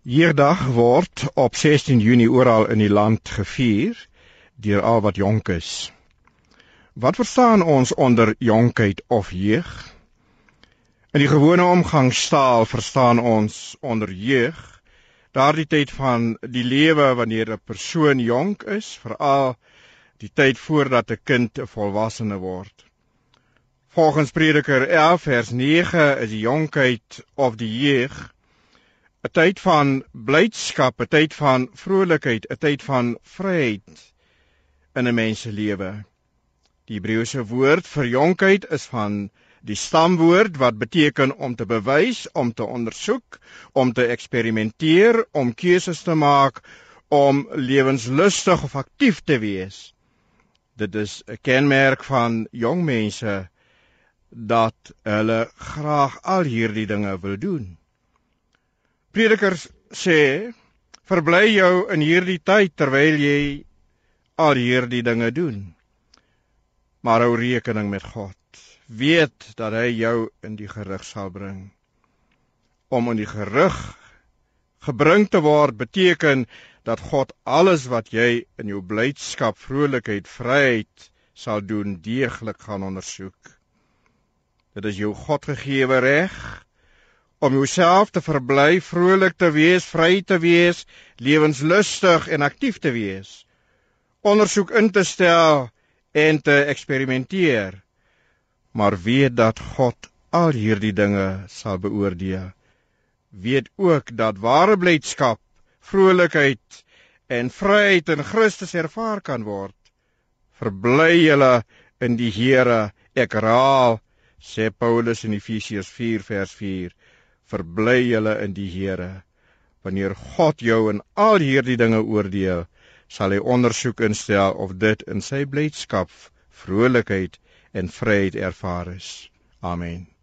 Hierdag word op 16 Junie oral in die land gevier deur al wat jonk is. Wat verstaan ons onder jonkheid of jeug? In die gewone omgangstaal verstaan ons onder jeug daardie tyd van die lewe wanneer 'n persoon jonk is, veral die tyd voordat 'n kind 'n volwassene word. Volgens Prediker 11 vers 9 is die jonkheid of die jeug 'n tyd van blydskap, 'n tyd van vrolikheid, 'n tyd van vryheid in 'n mens se lewe. Die Hebreëse woord vir jonkheid is van die stamwoord wat beteken om te bewys, om te ondersoek, om te eksperimenteer, om keuses te maak, om lewenslustig of aktief te wees. Dit is 'n kenmerk van jong mense dat hulle graag al hierdie dinge wil doen. Predikers sê, verbly jou in hierdie tyd terwyl jy al hierdie dinge doen. Maar hou rekening met God. Weet dat hy jou in die gerig sal bring. Om in die gerig gebring te word beteken dat God alles wat jy in jou blydskap, vrolikheid, vryheid sal doen, deeglik gaan ondersoek. Dit is jou Godgegewe reg om jouself te verbly, vrolik te wees, vry te wees, lewenslustig en aktief te wees, ondersoek in te stel en te eksperimenteer. Maar weet dat God al hierdie dinge sal beoordeel. Weet ook dat ware blydskap, vrolikheid en vryheid in Christus ervaar kan word. Verbly julle in die Here, ek herhaal, sê Paulus in Efesiërs 4 vers 4, verbly julle in die Here. Wanneer God jou in al hierdie dinge oordeel, sal hy ondersoek instel of dit in sy blydskap, vrolikheid en vryheid ervaar is. Amen.